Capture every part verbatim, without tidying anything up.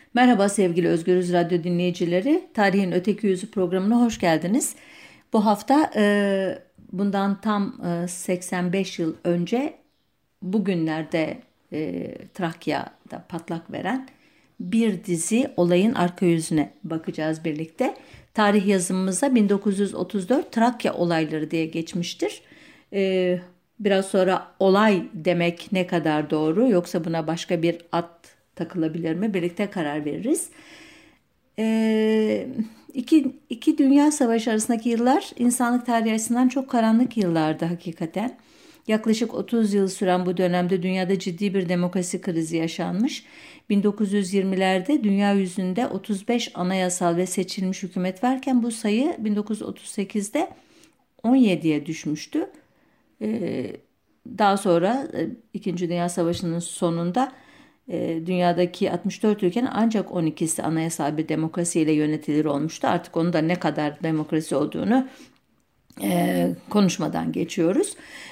Merhaba sevgili Özgürüz Radyo dinleyicileri. Tarihin Öteki Yüzü programına hoş geldiniz. Bu hafta e, bundan tam e, seksen beş yıl önce bugünlerde e, Trakya'da patlak veren bir dizi olayın arka yüzüne bakacağız birlikte. Tarih yazımımıza bin dokuz yüz otuz dört Trakya olayları diye geçmiştir. E, Biraz sonra olay demek ne kadar doğru, yoksa buna başka bir ad takılabilir mi? Birlikte karar veririz. Ee, iki, iki Dünya Savaşı arasındaki yıllar insanlık tarihi açısından çok karanlık yıllardı hakikaten. Yaklaşık otuz yıl süren bu dönemde dünyada ciddi bir demokrasi krizi yaşanmış. bin dokuz yüz yirmilerde dünya yüzünde otuz beş anayasal ve seçilmiş hükümet varken bu sayı bin dokuz yüz otuz sekizde on yediye düşmüştü. Ee, Daha sonra e, İkinci Dünya Savaşı'nın sonunda e, dünyadaki altmış dört ülkenin ancak on ikisi anayasal bir demokrasiyle yönetilir olmuştu. Artık onun da ne kadar demokrasi olduğunu e, konuşmadan geçiyoruz.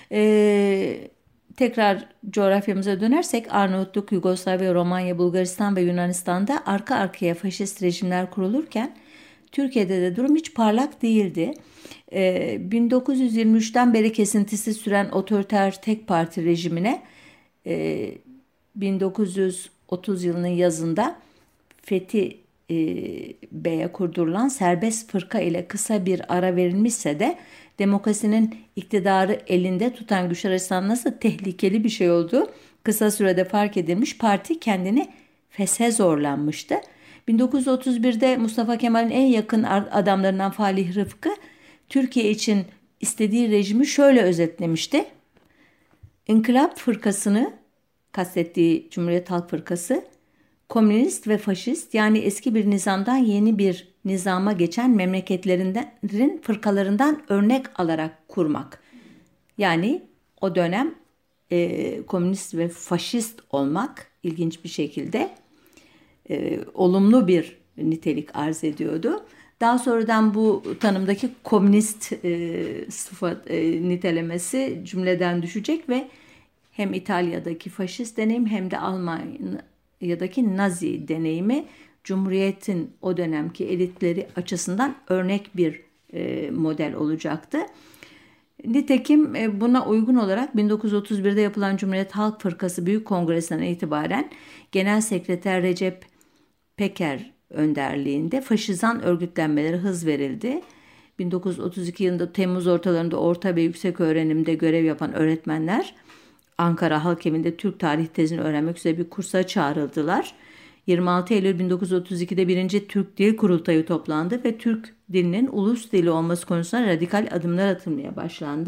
E, Tekrar coğrafyamıza dönersek Arnavutluk, Yugoslavya, Romanya, Bulgaristan ve Yunanistan'da arka arkaya faşist rejimler kurulurken Türkiye'de de durum hiç parlak değildi. Ee, bin dokuz yüz yirmi üçten beri kesintisiz süren otoriter tek parti rejimine e, bin dokuz yüz otuz yılının yazında Fethi e, Bey'e kurdurulan serbest fırka ile kısa bir ara verilmişse de demokrasinin iktidarı elinde tutan güçler açısından nasıl tehlikeli bir şey olduğu kısa sürede fark edilmiş, parti kendini feshe zorlanmıştı. bin dokuz yüz otuz birde Mustafa Kemal'in en yakın adamlarından Falih Rıfkı Türkiye için istediği rejimi şöyle özetlemişti. İnkılap fırkasını, kastettiği Cumhuriyet Halk Fırkası, komünist ve faşist, yani eski bir nizamdan yeni bir nizama geçen memleketlerin fırkalarından örnek alarak kurmak. Yani o dönem e, komünist ve faşist olmak ilginç bir şekilde e, olumlu bir nitelik arz ediyordu. Daha sonradan bu tanımdaki komünist e, sıfat e, nitelemesi cümleden düşecek ve hem İtalya'daki faşist deneyim hem de Almanya'daki Nazi deneyimi Cumhuriyet'in o dönemki elitleri açısından örnek bir e, model olacaktı. Nitekim e, buna uygun olarak bin dokuz yüz otuz birde yapılan Cumhuriyet Halk Fırkası Büyük Kongresi'nden itibaren Genel Sekreter Recep Peker önderliğinde faşizan örgütlenmelere hız verildi. bin dokuz yüz otuz iki yılında Temmuz ortalarında orta ve yüksek öğrenimde görev yapan öğretmenler Ankara Halk Evi'nde Türk tarih tezini öğrenmek üzere bir kursa çağrıldılar. yirmi altı Eylül bin dokuz yüz otuz ikide birinci Türk Dil Kurultayı toplandı ve Türk dilinin ulus dili olması konusunda radikal adımlar atılmaya başlandı.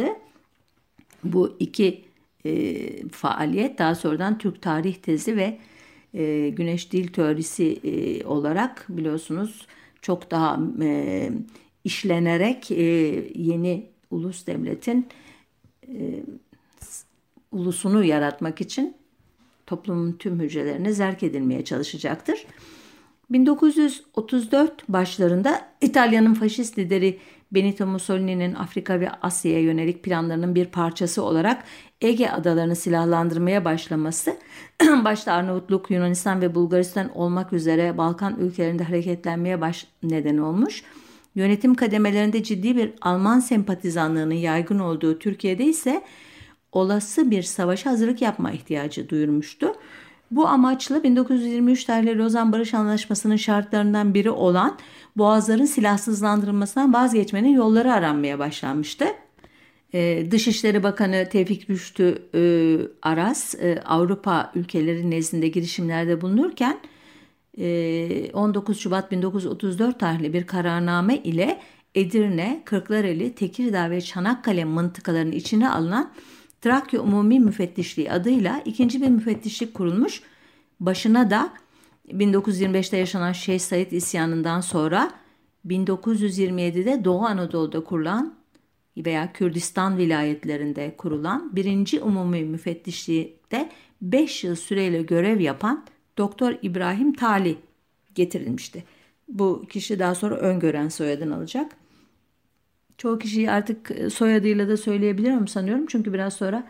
Bu iki e, faaliyet daha sonradan Türk tarih tezi ve e, Güneş Dil Teorisi e, olarak biliyorsunuz çok daha e, işlenerek e, yeni ulus devletin e, ulusunu yaratmak için toplumun tüm hücrelerine zerk edilmeye çalışacaktır. bin dokuz yüz otuz dört başlarında İtalya'nın faşist lideri Benito Mussolini'nin Afrika ve Asya'ya yönelik planlarının bir parçası olarak Ege adalarını silahlandırmaya başlaması, başta Arnavutluk, Yunanistan ve Bulgaristan olmak üzere Balkan ülkelerinde hareketlenmeye baş neden olmuş. Yönetim kademelerinde ciddi bir Alman sempatizanlığının yaygın olduğu Türkiye'de ise olası bir savaşa hazırlık yapma ihtiyacı duyurmuştu. Bu amaçla bin dokuz yüz yirmi üç tarihli Lozan Barış Anlaşması'nın şartlarından biri olan Boğazların silahsızlandırılmasından vazgeçmenin yolları aranmaya başlanmıştı. Ee, Dışişleri Bakanı Tevfik Rüştü e, Aras e, Avrupa ülkeleri nezdinde girişimlerde bulunurken e, on dokuz Şubat bin dokuz yüz otuz dört tarihli bir kararname ile Edirne, Kırklareli, Tekirdağ ve Çanakkale mıntıkalarının içine alınan Trakya Umumi Müfettişliği adıyla ikinci bir müfettişlik kurulmuş. Başına da bin dokuz yüz yirmi beşte yaşanan Şeyh Said isyanından sonra bin dokuz yüz yirmi yedide Doğu Anadolu'da kurulan veya Kürdistan vilayetlerinde kurulan birinci Umumi Müfettişliği'de beş yıl süreyle görev yapan Doktor İbrahim Tali getirilmişti. Bu kişi daha sonra Öngören soyadını alacak. Çoğu kişiyi artık soyadıyla da söyleyebilirim sanıyorum. Çünkü biraz sonra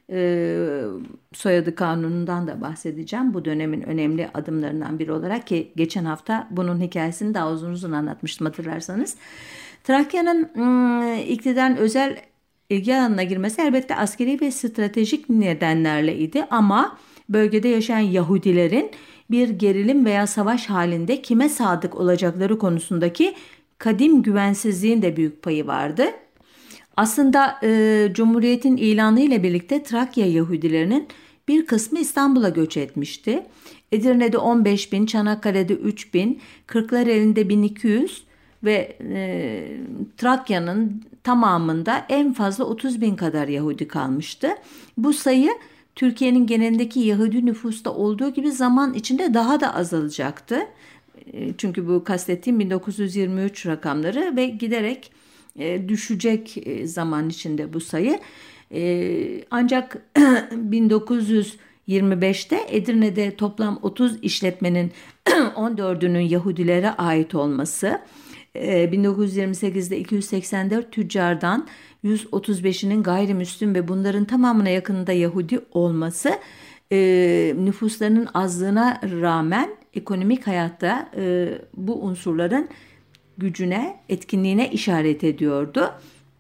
e, soyadı kanunundan da bahsedeceğim. Bu dönemin önemli adımlarından biri olarak, ki geçen hafta bunun hikayesini daha uzun uzun anlatmıştım hatırlarsanız. Trakya'nın ım, iktidarın özel ilgi alanına girmesi elbette askeri ve stratejik nedenlerle idi, ama bölgede yaşayan Yahudilerin bir gerilim veya savaş halinde kime sadık olacakları konusundaki kadim güvensizliğin de büyük payı vardı. Aslında e, Cumhuriyet'in ilanı ile birlikte Trakya Yahudilerinin bir kısmı İstanbul'a göç etmişti. Edirne'de on beş bin, Çanakkale'de üç bin, Kırklareli'nde bin iki yüz ve e, Trakya'nın tamamında en fazla otuz bin kadar Yahudi kalmıştı. Bu sayı Türkiye'nin genelindeki Yahudi nüfusta olduğu gibi zaman içinde daha da azalacaktı. E, çünkü bu kastettiğim bin dokuz yüz yirmi üç rakamları ve giderek e, düşecek e, zaman içinde bu sayı. E, ancak bin dokuz yüz yirmi beşte Edirne'de toplam otuz işletmenin on dördünün Yahudilere ait olması, bin dokuz yüz yirmi sekizde iki yüz seksen dört tüccardan yüz otuz beşinin gayrimüslim ve bunların tamamına yakınında Yahudi olması e, nüfuslarının azlığına rağmen ekonomik hayatta e, bu unsurların gücüne, etkinliğine işaret ediyordu.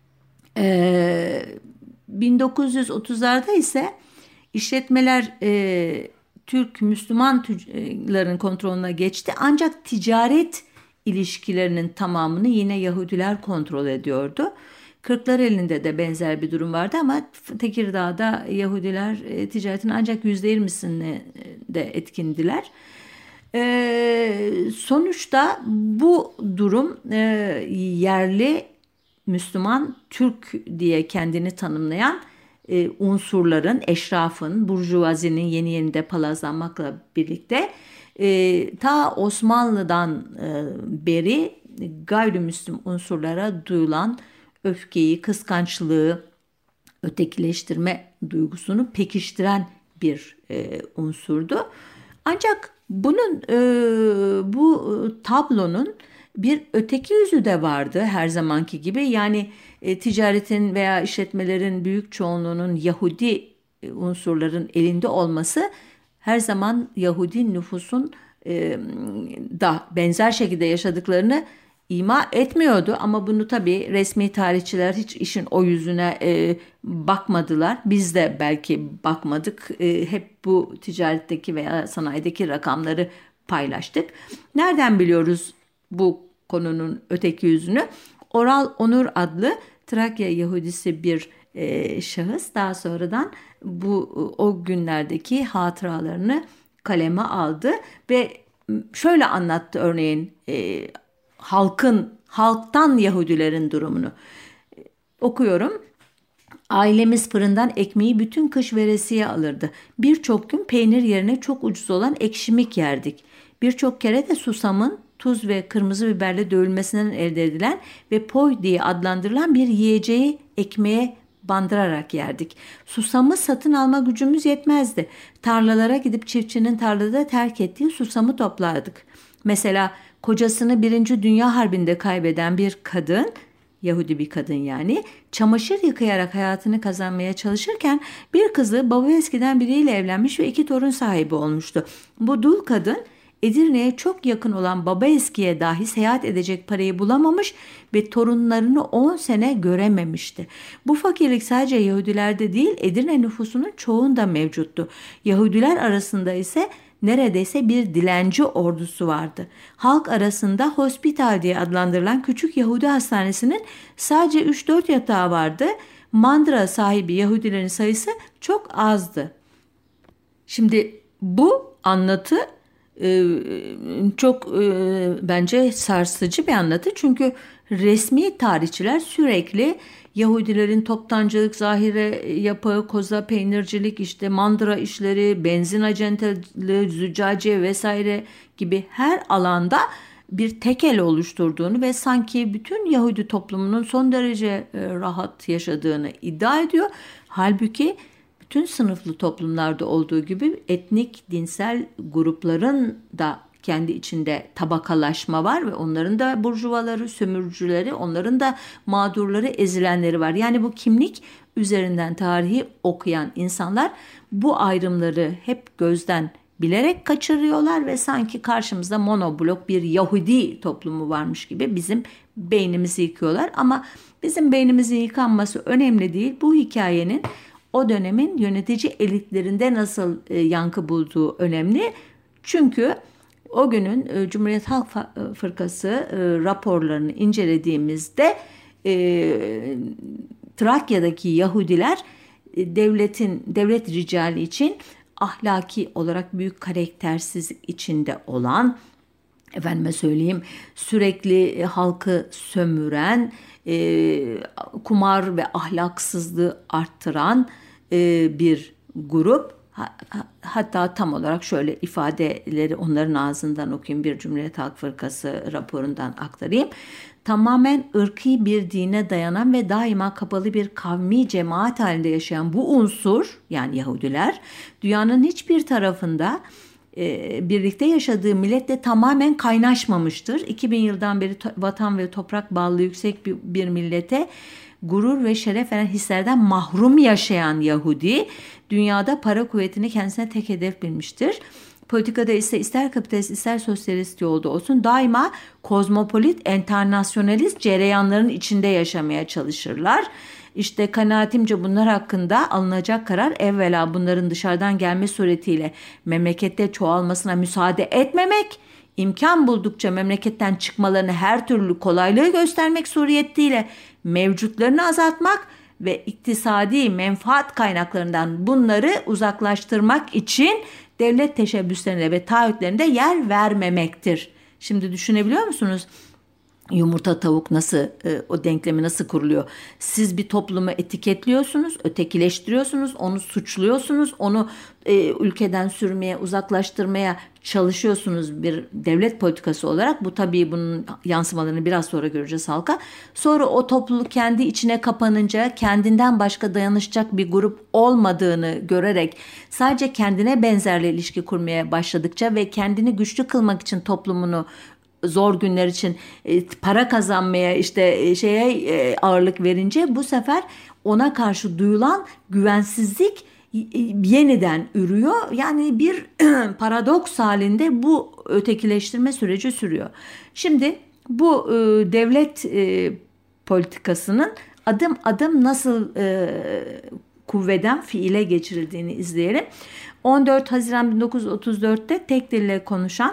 E, bin dokuz yüz otuzlarda ise işletmeler e, Türk Müslüman tüccarların kontrolüne geçti, ancak ticaret ilişkilerinin tamamını yine Yahudiler kontrol ediyordu. Kırklareli'nde de benzer bir durum vardı, ama Tekirdağ'da Yahudiler e, ticaretin ancak yüzde yirmisini de etkindiler. E, sonuçta bu durum e, yerli Müslüman Türk diye kendini tanımlayan e, unsurların, eşrafın, burjuvazinin yeni yeni de palazlanmakla birlikte e, ta Osmanlı'dan e, beri gayrimüslim unsurlara duyulan öfkeyi, kıskançlığı, ötekileştirme duygusunu pekiştiren bir e, unsurdu. Ancak bunun e, bu tablonun bir öteki yüzü de vardı her zamanki gibi. Yani e, ticaretin veya işletmelerin büyük çoğunluğunun Yahudi e, unsurların elinde olması her zaman Yahudi nüfusun e, da benzer şekilde yaşadıklarını ima etmiyordu. Ama bunu tabii resmi tarihçiler hiç işin o yüzüne e, bakmadılar. Biz de belki bakmadık. E, hep bu ticaretteki veya sanayideki rakamları paylaştık. Nereden biliyoruz bu konunun öteki yüzünü? Oral Onur adlı Trakya Yahudisi bir e, şahıs daha sonradan bu o günlerdeki hatıralarını kaleme aldı ve şöyle anlattı örneğin e, halkın, halktan Yahudilerin durumunu. E, okuyorum. Ailemiz fırından ekmeği bütün kış veresiye alırdı. Birçok gün peynir yerine çok ucuz olan ekşimik yerdik. Birçok kere de susamın tuz ve kırmızı biberle dövülmesinden elde edilen ve poy diye adlandırılan bir yiyeceği ekmeğe bandırarak yerdik. Susamı satın alma gücümüz yetmezdi. Tarlalara gidip çiftçinin tarlada terk ettiği susamı toplardık. Mesela kocasını Birinci Dünya Harbi'nde kaybeden bir kadın, Yahudi bir kadın yani, çamaşır yıkayarak hayatını kazanmaya çalışırken bir kızı baba eskiden biriyle evlenmiş ve iki torun sahibi olmuştu. Bu dul kadın Edirne'ye çok yakın olan Babaeski'ye dahi seyahat edecek parayı bulamamış ve torunlarını on sene görememişti. Bu fakirlik sadece Yahudilerde değil, Edirne nüfusunun çoğunda mevcuttu. Yahudiler arasında ise neredeyse bir dilenci ordusu vardı. Halk arasında hospital diye adlandırılan küçük Yahudi hastanesinin sadece üç dört yatağı vardı. Mandıra sahibi Yahudilerin sayısı çok azdı. Şimdi bu anlatı çok bence sarsıcı bir anlatı, çünkü resmi tarihçiler sürekli Yahudilerin toptancılık, zahire yapağı, koza, peynircilik, işte mandıra işleri, benzin acenteliği, züccaciye vesaire gibi her alanda bir tekel oluşturduğunu ve sanki bütün Yahudi toplumunun son derece rahat yaşadığını iddia ediyor. Halbuki bütün sınıflı toplumlarda olduğu gibi etnik, dinsel grupların da kendi içinde tabakalaşma var ve onların da burjuvaları, sömürücüleri, onların da mağdurları, ezilenleri var. Yani bu kimlik üzerinden tarihi okuyan insanlar bu ayrımları hep gözden bilerek kaçırıyorlar ve sanki karşımızda monoblok bir Yahudi toplumu varmış gibi bizim beynimizi yıkıyorlar. Ama bizim beynimizin yıkanması önemli değil. Bu hikayenin o dönemin yönetici elitlerinde nasıl e, yankı bulduğu önemli. Çünkü o günün e, Cumhuriyet Halk Fırkası e, raporlarını incelediğimizde e, Trakya'daki Yahudiler e, devletin devlet ricali için ahlaki olarak büyük karaktersizlik içinde olan, efendime söyleyeyim, sürekli halkı sömüren, e, kumar ve ahlaksızlığı arttıran e, bir grup. Hatta tam olarak şöyle ifadeleri onların ağzından okuyayım, bir Cumhuriyet Halk Fırkası raporundan aktarayım. Tamamen ırkî bir dine dayanan ve daima kapalı bir kavmi cemaat halinde yaşayan bu unsur, yani Yahudiler, dünyanın hiçbir tarafında e, birlikte yaşadığı milletle tamamen kaynaşmamıştır. iki bin yıldan beri to- vatan ve toprak bağlılığı yüksek bir, bir millete gurur ve şeref veren hislerden mahrum yaşayan Yahudi, dünyada para kuvvetini kendisine tek hedef bilmiştir. Politikada ise ister kapitalist ister sosyalist yolda olsun daima kozmopolit, enternasyonalist cereyanların içinde yaşamaya çalışırlar. İşte kanaatimce bunlar hakkında alınacak karar evvela bunların dışarıdan gelme suretiyle memlekette çoğalmasına müsaade etmemek, imkan buldukça memleketten çıkmalarını her türlü kolaylığı göstermek suretiyle mevcutlarını azaltmak ve iktisadi menfaat kaynaklarından bunları uzaklaştırmak için devlet teşebbüslerine ve taahhütlerinde yer vermemektir. Şimdi düşünebiliyor musunuz? Yumurta tavuk nasıl, e, o denklemi nasıl kuruluyor? Siz bir toplumu etiketliyorsunuz, ötekileştiriyorsunuz, onu suçluyorsunuz, onu e, ülkeden sürmeye, uzaklaştırmaya çalışıyorsunuz bir devlet politikası olarak. Bu tabii bunun yansımalarını biraz sonra göreceğiz halka. Sonra o topluluk kendi içine kapanınca kendinden başka dayanışacak bir grup olmadığını görerek sadece kendine benzerle ilişki kurmaya başladıkça ve kendini güçlü kılmak için toplumunu zor günler için e, para kazanmaya işte e, şeye e, ağırlık verince bu sefer ona karşı duyulan güvensizlik e, yeniden ürüyor. Yani bir paradoks halinde bu ötekileştirme süreci sürüyor. Şimdi bu e, devlet e, politikasının adım adım nasıl e, kuvveden fiile geçirildiğini izleyelim. on dört Haziran bin dokuz yüz otuz dörtte tek dille konuşan,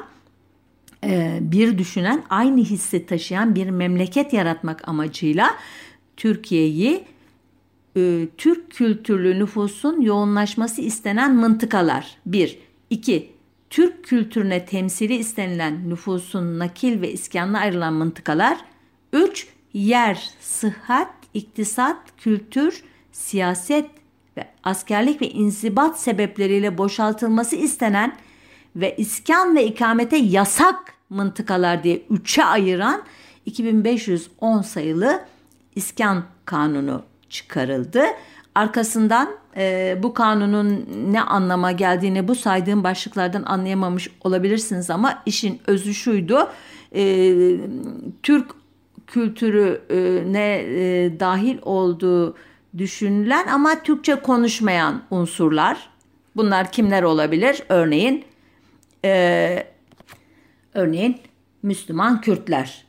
bir düşünen, aynı hissi taşıyan bir memleket yaratmak amacıyla Türkiye'yi e, Türk kültürlü nüfusun yoğunlaşması istenen mıntıkalar bir, iki, Türk kültürüne temsili istenilen nüfusun nakil ve iskanına ayrılan mıntıkalar, üç, yer, sıhhat, iktisat, kültür, siyaset ve askerlik ve inzibat sebepleriyle boşaltılması istenen ve iskan ve ikamete yasak mıntıkalar diye üçe ayıran iki bin beş yüz on sayılı iskan kanunu çıkarıldı. Arkasından e, bu kanunun ne anlama geldiğini bu saydığım başlıklardan anlayamamış olabilirsiniz ama işin özü şuydu. E, Türk kültürüne e, dahil olduğu düşünülen ama Türkçe konuşmayan unsurlar. Bunlar kimler olabilir? Örneğin Ee, örneğin Müslüman Kürtler,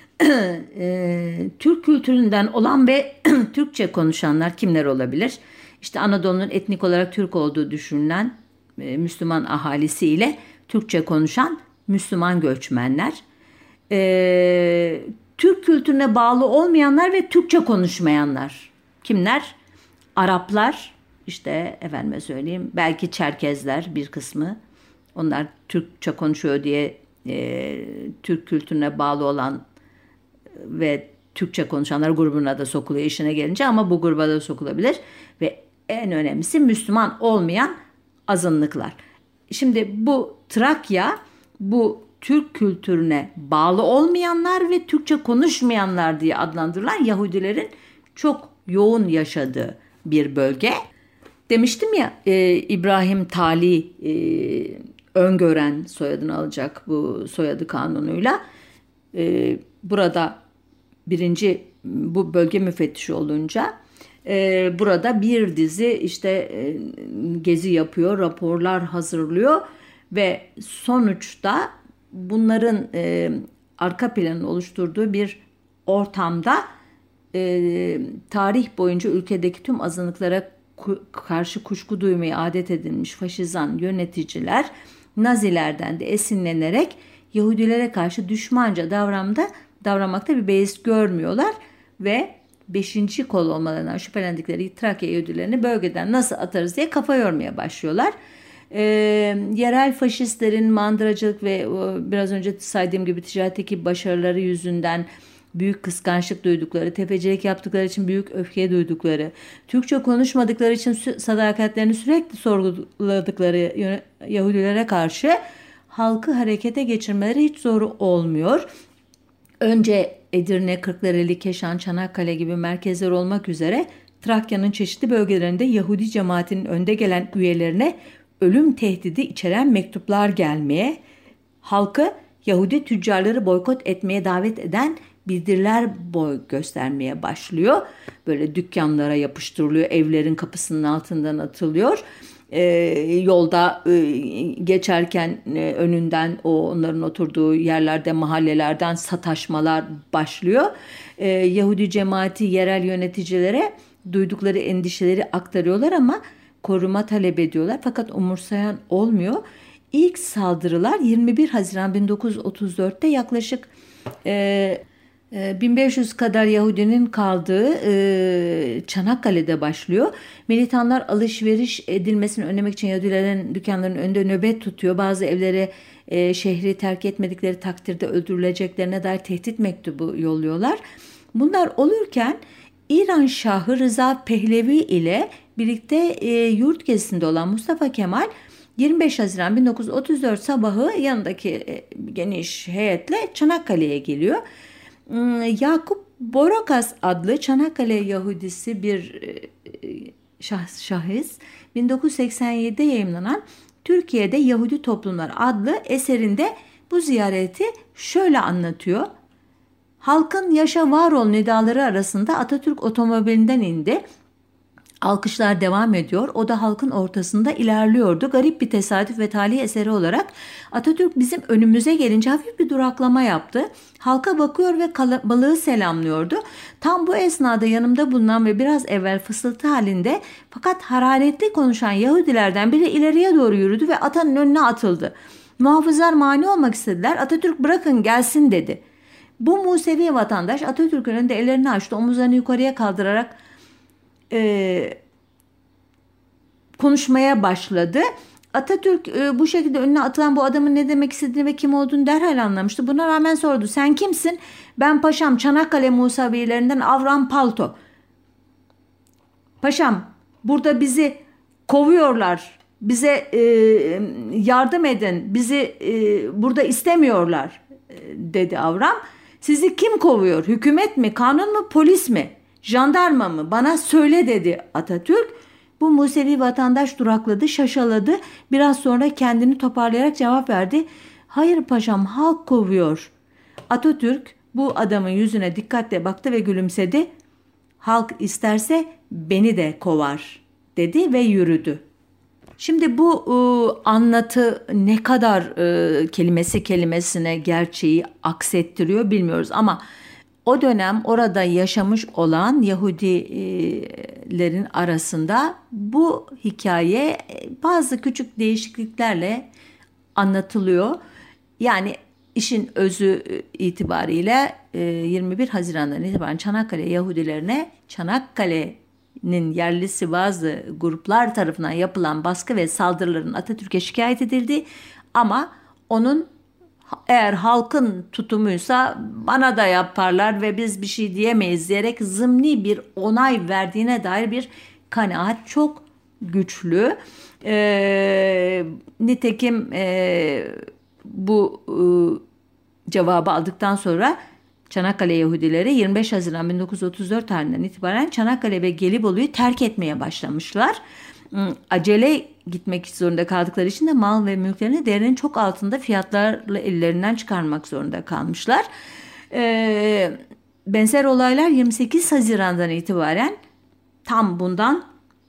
ee, Türk kültüründen olan ve Türkçe konuşanlar kimler olabilir? İşte Anadolu'nun etnik olarak Türk olduğu düşünülen e, Müslüman ahalisi ile Türkçe konuşan Müslüman göçmenler, ee, Türk kültürüne bağlı olmayanlar ve Türkçe konuşmayanlar kimler? Araplar, işte efendime söyleyeyim, belki Çerkezler bir kısmı. Onlar Türkçe konuşuyor diye e, Türk kültürüne bağlı olan ve Türkçe konuşanlar grubuna da sokuluyor işine gelince, ama bu gruba da sokulabilir. Ve en önemlisi Müslüman olmayan azınlıklar. Şimdi bu Trakya, bu Türk kültürüne bağlı olmayanlar ve Türkçe konuşmayanlar diye adlandırılan Yahudilerin çok yoğun yaşadığı bir bölge. Demiştim ya, e, İbrahim Tali e, öngören soyadını alacak bu soyadı kanunuyla. E, burada birinci bu bölge müfettişi olunca e, burada bir dizi işte e, gezi yapıyor, raporlar hazırlıyor ve sonuçta bunların e, arka planını oluşturduğu bir ortamda e, tarih boyunca ülkedeki tüm azınlıklara ku- karşı kuşku duymayı adet edinmiş faşizan yöneticiler Nazilerden de esinlenerek Yahudilere karşı düşmanca davranmada, davranmakta bir beis görmüyorlar ve beşinci kol olmalarından şüphelendikleri Trakya Yahudilerini bölgeden nasıl atarız diye kafa yormaya başlıyorlar. Ee, yerel faşistlerin mandıracılık ve o, biraz önce saydığım gibi ticaretteki başarıları yüzünden büyük kıskançlık duydukları, tefecilik yaptıkları için büyük öfke duydukları, Türkçe konuşmadıkları için sadakatlerini sürekli sorguladıkları Yahudilere karşı halkı harekete geçirmeleri hiç zor olmuyor. Önce Edirne, Kırklareli, Keşan, Çanakkale gibi merkezler olmak üzere Trakya'nın çeşitli bölgelerinde Yahudi cemaatinin önde gelen üyelerine ölüm tehdidi içeren mektuplar gelmeye, halkı Yahudi tüccarları boykot etmeye davet eden bildiriler boy göstermeye başlıyor. Böyle dükkanlara yapıştırılıyor, evlerin kapısının altından atılıyor. Ee, yolda e, geçerken e, önünden o onların oturduğu yerlerde mahallelerden sataşmalar başlıyor. Ee, Yahudi cemaati yerel yöneticilere duydukları endişeleri aktarıyorlar ama koruma talep ediyorlar fakat umursayan olmuyor. İlk saldırılar yirmi bir Haziran bin dokuz yüz otuz dörtte yaklaşık e, bin beş yüz kadar Yahudinin kaldığı e, Çanakkale'de başlıyor. Militanlar alışveriş edilmesini önlemek için Yahudilerin dükkanlarının önünde nöbet tutuyor. Bazı evlere e, şehri terk etmedikleri takdirde öldürüleceklerine dair tehdit mektubu yolluyorlar. Bunlar olurken İran Şahı Rıza Pehlevi ile birlikte e, yurt gezisinde olan Mustafa Kemal yirmi beş Haziran bin dokuz yüz otuz dört sabahı yanındaki e, geniş heyetle Çanakkale'ye geliyor. Yakup Borokas adlı Çanakkale Yahudisi bir şah, şahıs bin dokuz yüz seksen yedide yayımlanan Türkiye'de Yahudi Toplumlar adlı eserinde bu ziyareti şöyle anlatıyor. Halkın yaşa var ol nidaları arasında Atatürk otomobilinden indi. Alkışlar devam ediyor. O da halkın ortasında ilerliyordu. Garip bir tesadüf ve talih eseri olarak Atatürk bizim önümüze gelince hafif bir duraklama yaptı. Halka bakıyor ve kalabalığı selamlıyordu. Tam bu esnada yanımda bulunan ve biraz evvel fısıltı halinde fakat hararetli konuşan Yahudilerden biri ileriye doğru yürüdü ve atanın önüne atıldı. Muhafızlar mani olmak istediler. Atatürk bırakın gelsin dedi. Bu Musevi vatandaş Atatürk'ün önünde ellerini açtı. Omuzlarını yukarıya kaldırarak e, konuşmaya başladı. Atatürk e, bu şekilde önüne atılan bu adamın ne demek istediğini ve kim olduğunu derhal anlamıştı. Buna rağmen sordu. Sen kimsin? Ben paşam Çanakkale Musavilerinden Avram Palto. Paşam burada bizi kovuyorlar. Bize e, yardım edin. Bizi e, burada istemiyorlar e, dedi Avram. Sizi kim kovuyor? Hükümet mi? Kanun mu? Polis mi? Jandarma mı? Bana söyle dedi Atatürk. Bu Musevi vatandaş durakladı, şaşaladı. Biraz sonra kendini toparlayarak cevap verdi. Hayır paşam, halk kovuyor. Atatürk bu adamın yüzüne dikkatle baktı ve gülümsedi. Halk isterse beni de kovar dedi ve yürüdü. Şimdi bu e, anlatı ne kadar e, kelimesi kelimesine gerçeği aksettiriyor bilmiyoruz ama o dönem orada yaşamış olan Yahudilerin arasında bu hikaye bazı küçük değişikliklerle anlatılıyor. Yani işin özü itibariyle yirmi bir Haziran'dan itibaren Çanakkale Yahudilerine Çanakkale'nin yerlisi bazı gruplar tarafından yapılan baskı ve saldırıların Atatürk'e şikayet edildi. Ama onun eğer halkın tutumuysa bana da yaparlar ve biz bir şey diyemeyiz diyerek zımni bir onay verdiğine dair bir kanaat çok güçlü. E, nitekim e, bu e, cevabı aldıktan sonra Çanakkale Yahudileri yirmi beş Haziran bin dokuz yüz otuz dört tarihinden itibaren Çanakkale ve Gelibolu'yu terk etmeye başlamışlar. Acele gitmek zorunda kaldıkları için de mal ve mülklerini değerinin çok altında fiyatlarla ellerinden çıkarmak zorunda kalmışlar. Ee, benzer olaylar yirmi sekiz Haziran'dan itibaren tam bundan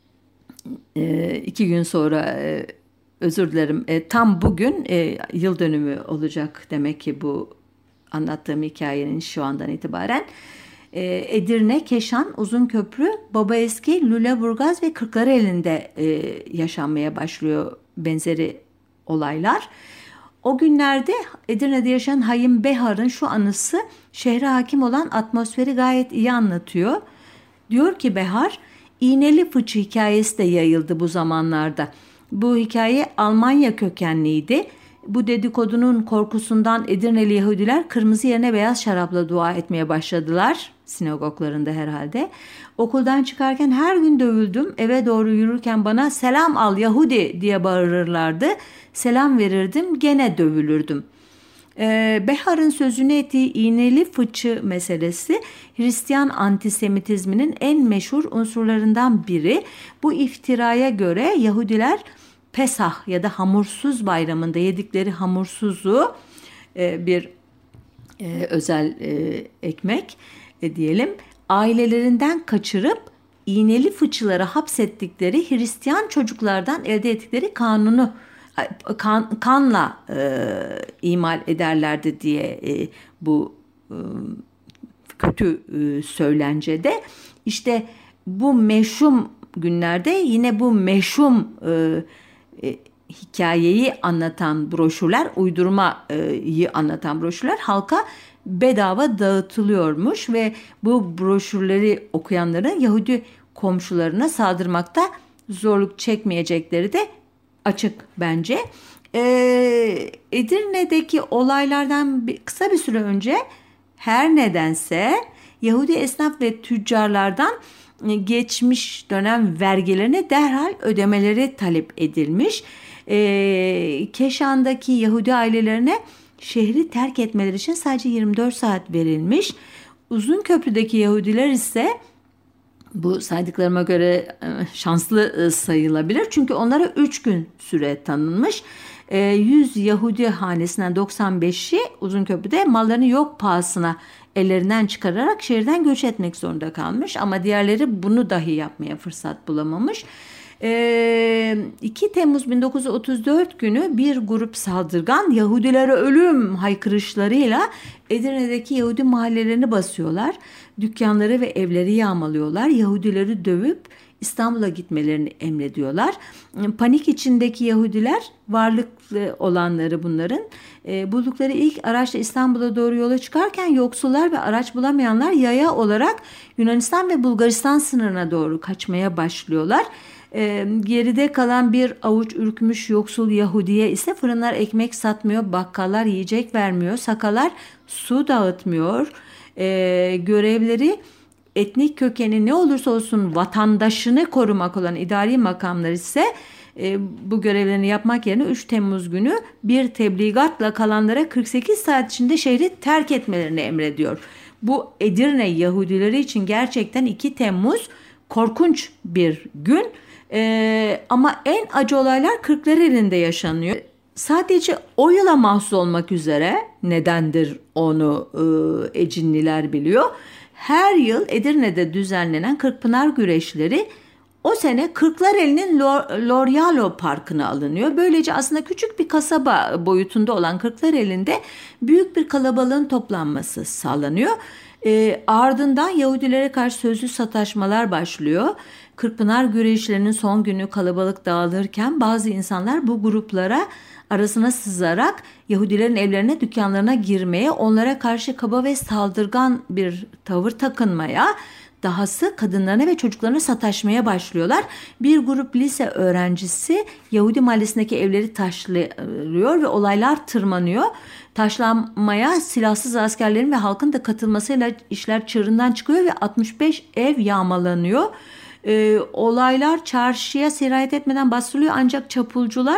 e, iki gün sonra e, özür dilerim e, tam bugün e, yıl dönümü olacak demek ki bu anlattığım hikayenin şu andan itibaren. Edirne, Keşan, Uzunköprü, Babaeski, Lüleburgaz ve Kırklareli'nde e, yaşanmaya başlıyor benzeri olaylar. O günlerde Edirne'de yaşayan Hayim Behar'ın şu anısı şehre hakim olan atmosferi gayet iyi anlatıyor. Diyor ki Behar, iğneli fıçı hikayesi de yayıldı bu zamanlarda. Bu hikaye Almanya kökenliydi. Bu dedikodunun korkusundan Edirneli Yahudiler kırmızı yerine beyaz şarapla dua etmeye başladılar. Sinagoglarında herhalde. Okuldan çıkarken her gün dövüldüm. Eve doğru yürürken bana selam al Yahudi diye bağırırlardı. Selam verirdim, gene dövülürdüm. Ee, Behar'ın sözünü ettiği iğneli fıçı meselesi Hristiyan antisemitizminin en meşhur unsurlarından biri. Bu iftiraya göre Yahudiler Pesah ya da hamursuz bayramında yedikleri hamursuzu e, bir e, özel e, ekmek e, diyelim ailelerinden kaçırıp iğneli fıçılara hapsettikleri Hristiyan çocuklardan elde ettikleri kanunu kan, kanla e, imal ederlerdi diye e, bu e, kötü e, söylencede işte bu meşhum günlerde yine bu meşhum e, E, hikayeyi anlatan broşürler, uydurmayı anlatan broşürler halka bedava dağıtılıyormuş ve bu broşürleri okuyanların Yahudi komşularına saldırmakta zorluk çekmeyecekleri de açık bence. Ee, Edirne'deki olaylardan bir, kısa bir süre önce her nedense Yahudi esnaf ve tüccarlardan geçmiş dönem vergilerini derhal ödemeleri talep edilmiş. Ee, Keşan'daki Yahudi ailelerine şehri terk etmeleri için sadece yirmi dört saat verilmiş. Uzunköprü'deki Yahudiler ise bu saydıklarıma göre şanslı sayılabilir. Çünkü onlara üç gün süre tanınmış. yüz Yahudi hanesinden doksan beşi Uzunköprü'de mallarını yok pahasına ellerinden çıkararak şehirden göç etmek zorunda kalmış. Ama diğerleri bunu dahi yapmaya fırsat bulamamış. iki Temmuz bin dokuz yüz otuz dört günü bir grup saldırgan Yahudilere ölüm haykırışlarıyla Edirne'deki Yahudi mahallelerini basıyorlar. Dükkanları ve evleri yağmalıyorlar. Yahudileri dövüp İstanbul'a gitmelerini emrediyorlar. Panik içindeki Yahudiler, varlıklı olanları bunların, e, buldukları ilk araçla İstanbul'a doğru yola çıkarken yoksullar ve araç bulamayanlar yaya olarak Yunanistan ve Bulgaristan sınırına doğru kaçmaya başlıyorlar. E, geride kalan bir avuç ürkmüş yoksul Yahudiye ise fırınlar ekmek satmıyor, bakkallar yiyecek vermiyor, sakalar su dağıtmıyor. E, görevleri etnik kökeni ne olursa olsun vatandaşını korumak olan idari makamlar ise e, bu görevlerini yapmak yerine üç Temmuz günü bir tebligatla kalanlara kırk sekiz saat içinde şehri terk etmelerini emrediyor. Bu Edirne Yahudileri için gerçekten iki Temmuz korkunç bir gün. E, ama en acı olaylar Kırklareli'nde yaşanıyor. Sadece o yıla mahsus olmak üzere, nedendir onu e, Ecinliler biliyor. Her yıl Edirne'de düzenlenen Kırkpınar güreşleri o sene Kırklareli'nin Lorialo Parkı'na alınıyor. Böylece aslında küçük bir kasaba boyutunda olan Kırklareli'nde büyük bir kalabalığın toplanması sağlanıyor. E, ardından Yahudilere karşı sözlü sataşmalar başlıyor. Kırkpınar güreşlerinin son günü kalabalık dağılırken bazı insanlar bu gruplara arasına sızarak Yahudilerin evlerine, dükkanlarına girmeye, onlara karşı kaba ve saldırgan bir tavır takınmaya, dahası kadınlarına ve çocuklarına sataşmaya başlıyorlar. Bir grup lise öğrencisi Yahudi mahallesindeki evleri taşlıyor ve olaylar tırmanıyor. Taşlanmaya silahsız askerlerin ve halkın da katılmasıyla işler çığırından çıkıyor ve altmış beş ev yağmalanıyor. Ee, olaylar çarşıya sirayet etmeden bastırılıyor ancak çapulcular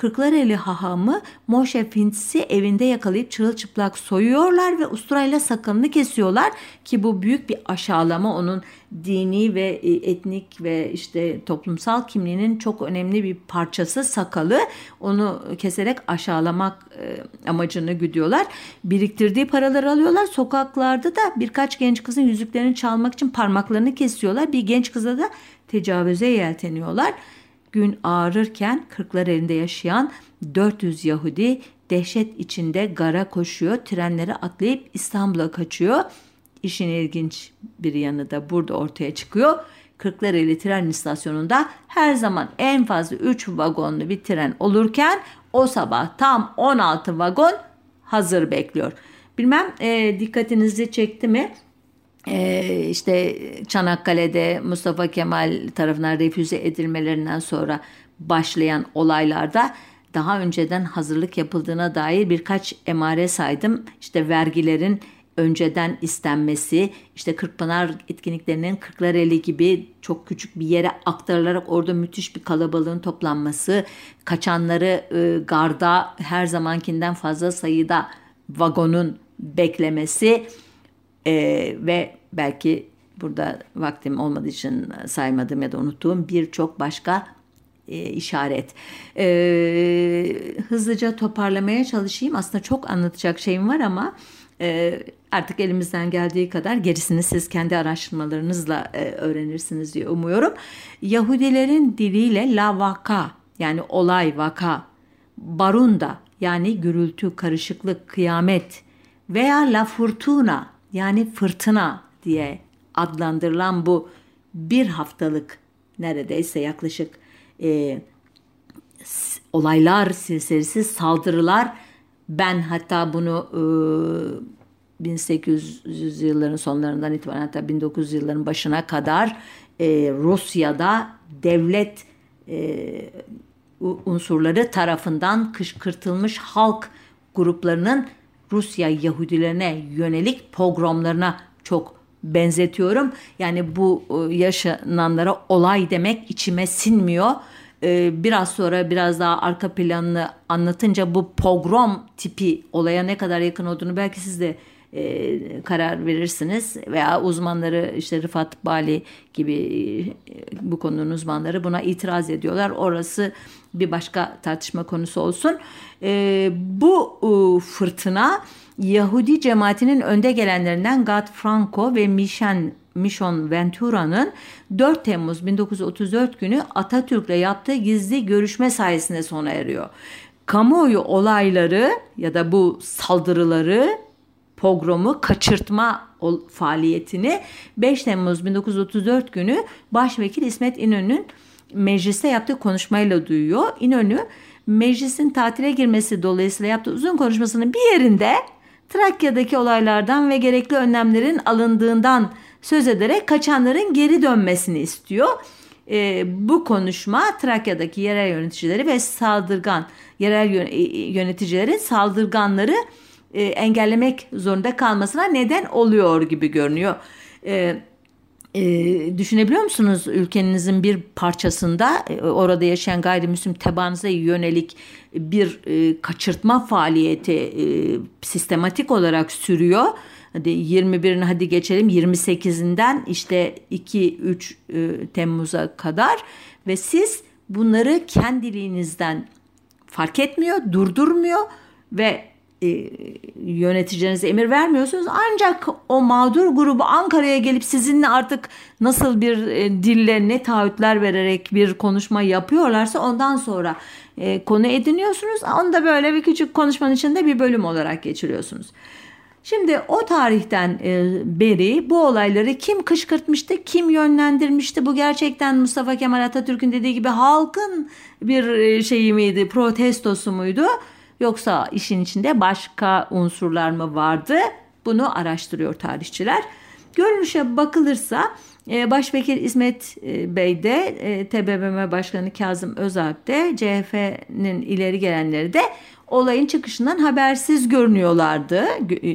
Kırklareli hahamı Moshe Fintz'i evinde yakalayıp çırılçıplak soyuyorlar ve usturayla sakalını kesiyorlar ki bu büyük bir aşağılama, onun dini ve etnik ve işte toplumsal kimliğinin çok önemli bir parçası sakalı, onu keserek aşağılamak amacını güdüyorlar. Biriktirdiği paraları alıyorlar, sokaklarda da birkaç genç kızın yüzüklerini çalmak için parmaklarını kesiyorlar, bir genç kıza da tecavüze yelteniyorlar. Gün ağarırken Kırklareli'nde yaşayan dört yüz Yahudi dehşet içinde gara koşuyor, trenlere atlayıp İstanbul'a kaçıyor. İşin ilginç bir yanı da burada ortaya çıkıyor. Kırklareli tren istasyonunda her zaman en fazla üç vagonlu bir tren olurken o sabah tam on altı vagon hazır bekliyor. Bilmem e, dikkatinizi çekti mi? Ee, işte Çanakkale'de Mustafa Kemal tarafından refüze edilmelerinden sonra başlayan olaylarda daha önceden hazırlık yapıldığına dair birkaç emare saydım. İşte vergilerin önceden istenmesi, işte Kırkpınar etkinliklerinin Kırklareli gibi çok küçük bir yere aktarılarak orada müthiş bir kalabalığın toplanması, kaçanları e, garda her zamankinden fazla sayıda vagonun beklemesi Ee, ve belki burada vaktim olmadığı için saymadığım ya da unuttuğum birçok başka e, işaret. Ee, hızlıca toparlamaya çalışayım. Aslında çok anlatacak şeyim var ama e, artık elimizden geldiği kadar gerisini siz kendi araştırmalarınızla e, öğrenirsiniz diye umuyorum. Yahudilerin diliyle la vaka, yani olay, vaka, barunda yani gürültü, karışıklık, kıyamet veya la furtuna yani fırtına diye adlandırılan bu bir haftalık neredeyse yaklaşık e, olaylar silsilesi, saldırılar, ben hatta bunu e, bin sekiz yüz yılların sonlarından itibaren hatta bin dokuz yüz yılların başına kadar e, Rusya'da devlet e, unsurları tarafından kışkırtılmış halk gruplarının Rusya Yahudilerine yönelik pogromlarına çok benzetiyorum. Yani bu yaşananlara olay demek içime sinmiyor. Biraz sonra biraz daha arka planını anlatınca bu pogrom tipi olaya ne kadar yakın olduğunu belki siz de e, karar verirsiniz. Veya uzmanları, işte Rıfat Bali gibi e, bu konunun uzmanları buna itiraz ediyorlar. Orası bir başka tartışma konusu olsun. E, bu e, fırtına Yahudi cemaatinin önde gelenlerinden Gad Franco ve Mission, Mission Ventura'nın dört Temmuz bin dokuz yüz otuz dört günü Atatürk'le yaptığı gizli görüşme sayesinde sona eriyor. Kamuoyu olayları ya da bu saldırıları, pogromu, kaçırtma faaliyetini beş Temmuz bin dokuz yüz otuz dört günü Başvekil İsmet İnönü'nün mecliste yaptığı konuşmayla duyuyor. İnönü meclisin tatile girmesi dolayısıyla yaptığı uzun konuşmasının bir yerinde Trakya'daki olaylardan ve gerekli önlemlerin alındığından söz ederek kaçanların geri dönmesini istiyor. E, bu konuşma Trakya'daki yerel yöneticileri ve saldırgan yerel yöneticilerin saldırganları e, engellemek zorunda kalmasına neden oluyor gibi görünüyor. E, e, düşünebiliyor musunuz, ülkenizin bir parçasında e, orada yaşayan gayrimüslim tebaanıza yönelik bir e, kaçırtma faaliyeti e, sistematik olarak sürüyor. Hadi yirmi birini hadi geçelim, yirmi sekizinden işte iki üç e, Temmuz'a kadar ve siz bunları kendiliğinizden fark etmiyor, durdurmuyor ve e, yöneticilerinize emir vermiyorsunuz. Ancak o mağdur grubu Ankara'ya gelip sizinle artık nasıl bir e, dille ne taahhütler vererek bir konuşma yapıyorlarsa ondan sonra e, konu ediniyorsunuz. Onu da böyle bir küçük konuşmanın içinde bir bölüm olarak geçiriyorsunuz. Şimdi o tarihten beri bu olayları kim kışkırtmıştı, kim yönlendirmişti? Bu gerçekten Mustafa Kemal Atatürk'ün dediği gibi halkın bir şeyi miydi, protestosu muydu? Yoksa işin içinde başka unsurlar mı vardı? Bunu araştırıyor tarihçiler. Görünüşe bakılırsa Başvekil İsmet Bey de, T B M M Başkanı Kazım Özalp de, C H P'nin ileri gelenleri de olayın çıkışından habersiz görünüyorlardı.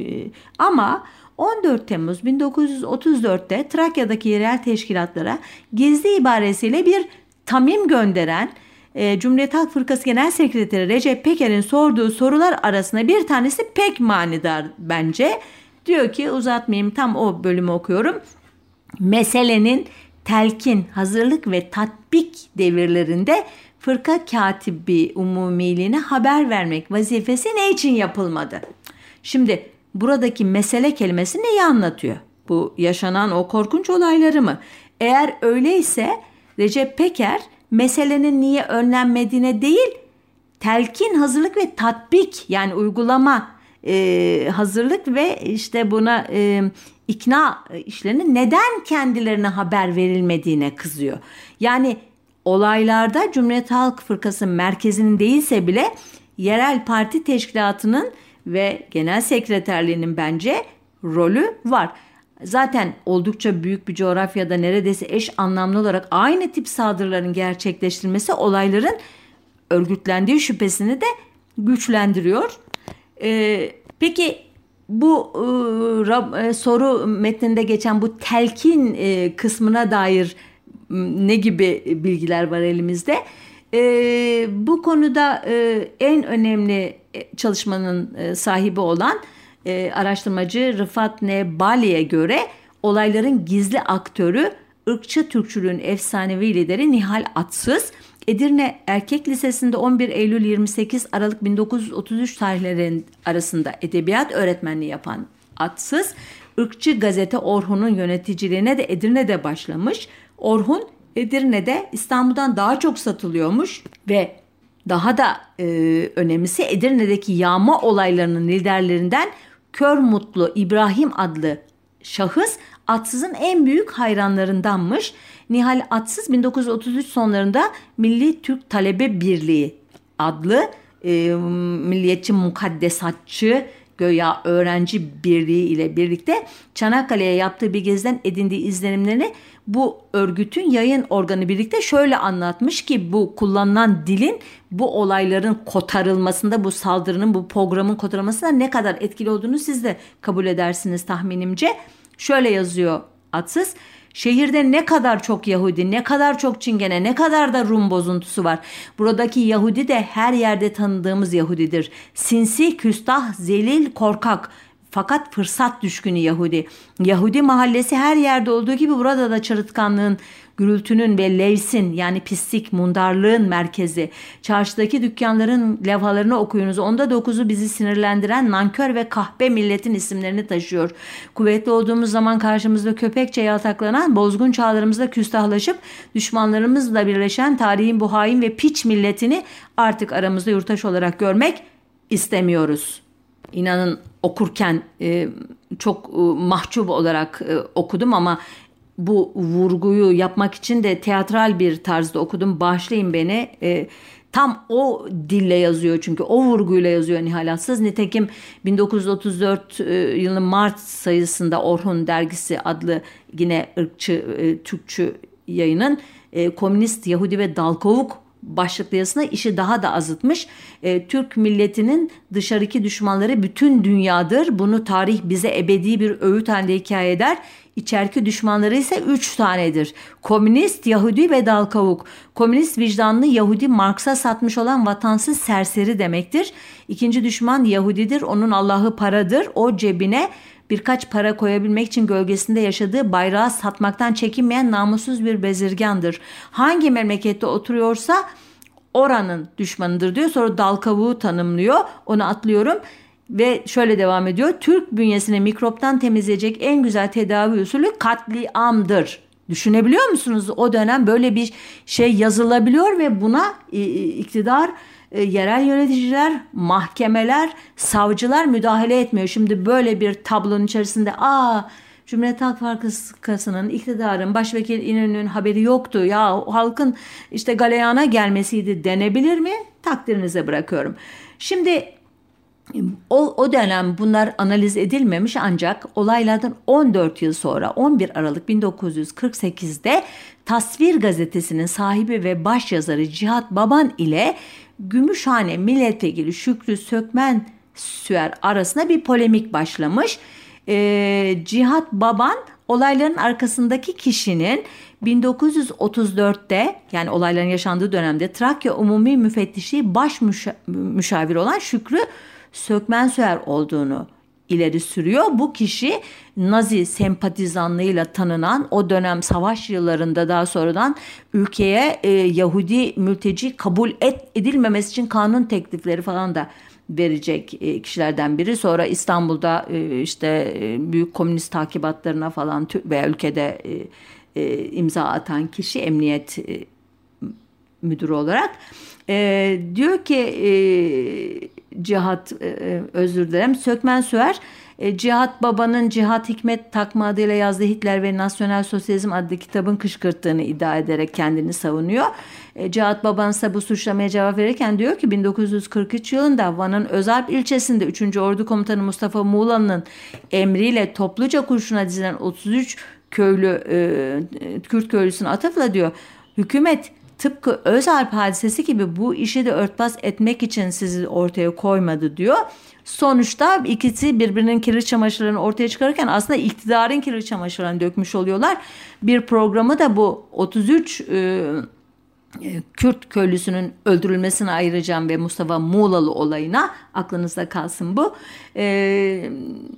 Ama on dört Temmuz bin dokuz yüz otuz dörtte Trakya'daki yerel teşkilatlara gizli ibaresiyle bir tamim gönderen e, Cumhuriyet Halk Fırkası Genel Sekreteri Recep Peker'in sorduğu sorular arasında bir tanesi pek manidar bence. Diyor ki, uzatmayayım, tam o bölümü okuyorum. Meselenin telkin, hazırlık ve tatbik devirlerinde fırka katibi umumiliğine haber vermek vazifesi ne için yapılmadı? Şimdi buradaki mesele kelimesi neyi anlatıyor? Bu yaşanan o korkunç olayları mı? Eğer öyleyse Recep Peker meselenin niye önlenmediğine değil, telkin, hazırlık ve tatbik, yani uygulama, e, hazırlık ve işte buna e, ikna işlerinin neden kendilerine haber verilmediğine kızıyor. Yani olaylarda Cumhuriyet Halk Fırkası merkezinin değilse bile yerel parti teşkilatının ve genel sekreterliğinin bence rolü var. Zaten oldukça büyük bir coğrafyada neredeyse eş anlamlı olarak aynı tip saldırıların gerçekleştirilmesi olayların örgütlendiği şüphesini de güçlendiriyor. Ee, peki bu e, soru metninde geçen bu telkin e, kısmına dair ne gibi bilgiler var elimizde? E, bu konuda e, en önemli çalışmanın e, sahibi olan e, araştırmacı Rıfat N. Bali'ye göre olayların gizli aktörü ırkçı Türkçülüğün efsanevi lideri Nihal Atsız, Edirne Erkek Lisesi'nde on bir Eylül yirmi sekiz Aralık bin dokuz yüz otuz üç tarihleri arasında edebiyat öğretmenliği yapan Atsız, ırkçı gazete Orhun'un yöneticiliğine de Edirne'de başlamış. Orhun Edirne'de İstanbul'dan daha çok satılıyormuş ve daha da e, önemlisi Edirne'deki yağma olaylarının liderlerinden Kör Mutlu İbrahim adlı şahıs Atsız'ın en büyük hayranlarındanmış. Nihal Atsız bin dokuz yüz otuz üç sonlarında Milli Türk Talebe Birliği adlı e, milliyetçi mukaddesatçı göya öğrenci birliği ile birlikte Çanakkale'ye yaptığı bir geziden edindiği izlenimlerini bu örgütün yayın organı birlikte şöyle anlatmış ki bu kullanılan dilin bu olayların kotarılmasında, bu saldırının, bu programın kotarılmasında ne kadar etkili olduğunu siz de kabul edersiniz tahminimce. Şöyle yazıyor Atsız: şehirde ne kadar çok Yahudi, ne kadar çok Çingene, ne kadar da Rum bozuntusu var. Buradaki Yahudi de her yerde tanıdığımız Yahudidir. Sinsi, küstah, zelil, korkak. Fakat fırsat düşkünü Yahudi. Yahudi mahallesi her yerde olduğu gibi burada da çarıtkanlığın, gürültünün ve levsin, yani pislik, mundarlığın merkezi. Çarşıdaki dükkanların levhalarını okuyunuz. Onda dokuzu bizi sinirlendiren nankör ve kahpe milletin isimlerini taşıyor. Kuvvetli olduğumuz zaman karşımızda köpekçe yaltaklanan, bozgun çağlarımızda küstahlaşıp düşmanlarımızla birleşen tarihin bu hain ve piç milletini artık aramızda yurttaş olarak görmek istemiyoruz. İnanın okurken e, çok e, mahcup olarak e, okudum ama bu vurguyu yapmak için de teatral bir tarzda okudum. Bağışlayın beni. E, tam o dille yazıyor çünkü o vurguyla yazıyor Nihal Atsız. Nitekim bin dokuz yüz otuz dört e, yılının Mart sayısında Orhun Dergisi adlı yine ırkçı e, Türkçü yayının e, komünist, Yahudi ve Dalkovuk başlıklı yazısında işi daha da azıtmış. E, Türk milletinin dışarıki düşmanları bütün dünyadır. Bunu tarih bize ebedi bir öğüt halinde hikaye eder. İçeriki düşmanları ise üç tanedir. Komünist, Yahudi ve Dalkavuk. Komünist vicdanlı Yahudi, Marks'a satmış olan vatansız serseri demektir. İkinci düşman Yahudidir. Onun Allah'ı paradır. O cebine birkaç para koyabilmek için gölgesinde yaşadığı bayrağı satmaktan çekinmeyen namussuz bir bezirgandır. Hangi memlekette oturuyorsa oranın düşmanıdır diyor. Sonra dal kavuğu tanımlıyor. Onu atlıyorum. Ve şöyle devam ediyor. Türk bünyesini mikroptan temizleyecek en güzel tedavi usulü katliamdır. Düşünebiliyor musunuz? O dönem böyle bir şey yazılabiliyor ve buna iktidar, yerel yöneticiler, mahkemeler, savcılar müdahale etmiyor. Şimdi böyle bir tablonun içerisinde aa Cumhuriyet Halk Fırkası'nın, iktidarın, Başvekil İnönü'nün haberi yoktu. Ya halkın işte galeyana gelmesiydi denebilir mi? Takdirinize bırakıyorum. Şimdi o, o dönem bunlar analiz edilmemiş ancak olaylardan on dört yıl sonra on bir Aralık bin dokuz yüz kırk sekizde Tasvir Gazetesi'nin sahibi ve başyazarı Cihat Baban ile Gümüşhane Milletvekili Şükrü Sökmen Süer arasında bir polemik başlamış. Ee, Cihat Baban olayların arkasındaki kişinin bin dokuz yüz otuz dörtte yani olayların yaşandığı dönemde Trakya Umumi Müfettişliği baş müşa- müşaviri olan Şükrü Sökmensöğer olduğunu ileri sürüyor. Bu kişi Nazi sempatizanlığıyla tanınan, o dönem savaş yıllarında daha sonradan ülkeye e, Yahudi mülteci kabul et, edilmemesi için kanun teklifleri falan da verecek e, kişilerden biri. Sonra İstanbul'da e, işte e, büyük komünist takibatlarına falan tü- veya ülkede e, e, imza atan kişi, emniyet e, müdürü olarak. E, diyor ki e, Cihat e, özür dilerim Sökmensöğer e, Cihat Baba'nın Cihat Hikmet takma adıyla yazdığı Hitler ve Nasyonel Sosyalizm adlı kitabın kışkırttığını iddia ederek kendini savunuyor. E, Cihat Baba'nın ise bu suçlamaya cevap verirken diyor ki bin dokuz yüz kırk üç yılında Van'ın Özalp ilçesinde üçüncü Ordu Komutanı Mustafa Muğlalı'nın emriyle topluca kurşuna dizilen otuz üç köylü e, Kürt köylüsüne atıfla diyor hükümet tıpkı Özalp hadisesi gibi bu işi de örtbas etmek için sizi ortaya koymadı diyor. Sonuçta ikisi birbirinin kirli çamaşırlarını ortaya çıkarırken aslında iktidarın kirli çamaşırlarını dökmüş oluyorlar. Bir programı da bu otuz üç e, Kürt köylüsünün öldürülmesine ayıracağım ve Mustafa Muğlalı olayına, aklınızda kalsın bu. E,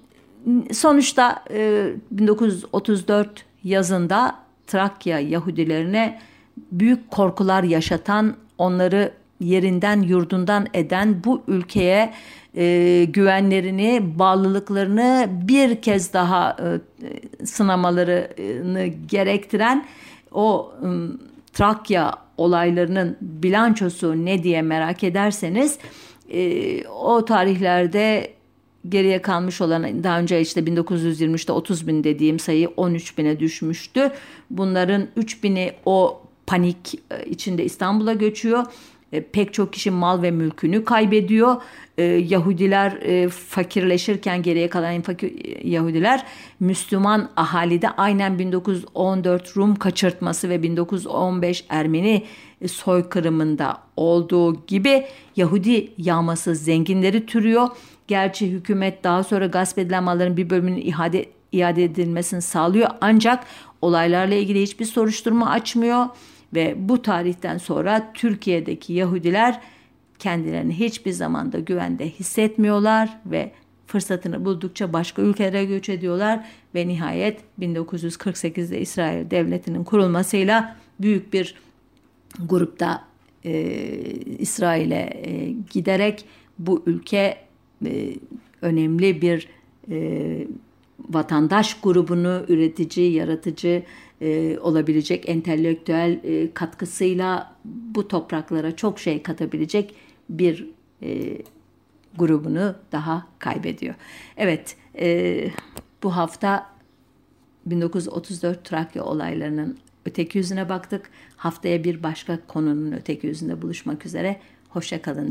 sonuçta e, bin dokuz yüz otuz dört yazında Trakya Yahudilerine büyük korkular yaşatan, onları yerinden yurdundan eden, bu ülkeye e, güvenlerini, bağlılıklarını bir kez daha e, sınamalarını gerektiren o e, Trakya olaylarının bilançosu ne diye merak ederseniz e, o tarihlerde geriye kalmış olan, daha önce işte bin dokuz yüz yirmi üçte otuz bin dediğim sayı on üç bine düşmüştü. Bunların üç bini o panik içinde İstanbul'a göçüyor. E, pek çok kişi mal ve mülkünü kaybediyor. E, Yahudiler e, fakirleşirken geriye kalan fakir Yahudiler Müslüman ahalide aynen bin dokuz yüz on dört Rum kaçırtması ve bin dokuz yüz on beş Ermeni soykırımında olduğu gibi Yahudi yağması zenginleri türüyor. Gerçi hükümet daha sonra gasp edilen malların bir bölümünün iade, iade edilmesini sağlıyor. Ancak olaylarla ilgili hiçbir soruşturma açmıyor. Ve bu tarihten sonra Türkiye'deki Yahudiler kendilerini hiçbir zamanda güvende hissetmiyorlar ve fırsatını buldukça başka ülkelere göç ediyorlar ve nihayet bin dokuz yüz kırk sekizde İsrail Devleti'nin kurulmasıyla büyük bir grupta e, İsrail'e e, giderek bu ülke e, önemli bir e, vatandaş grubunu üretici, yaratıcı e, olabilecek entelektüel e, katkısıyla bu topraklara çok şey katabilecek bir e, grubunu daha kaybediyor. Evet, e, bu hafta bin dokuz yüz otuz dört Trakya olaylarının öteki yüzüne baktık. Haftaya bir başka konunun öteki yüzünde buluşmak üzere. Hoşça kalın.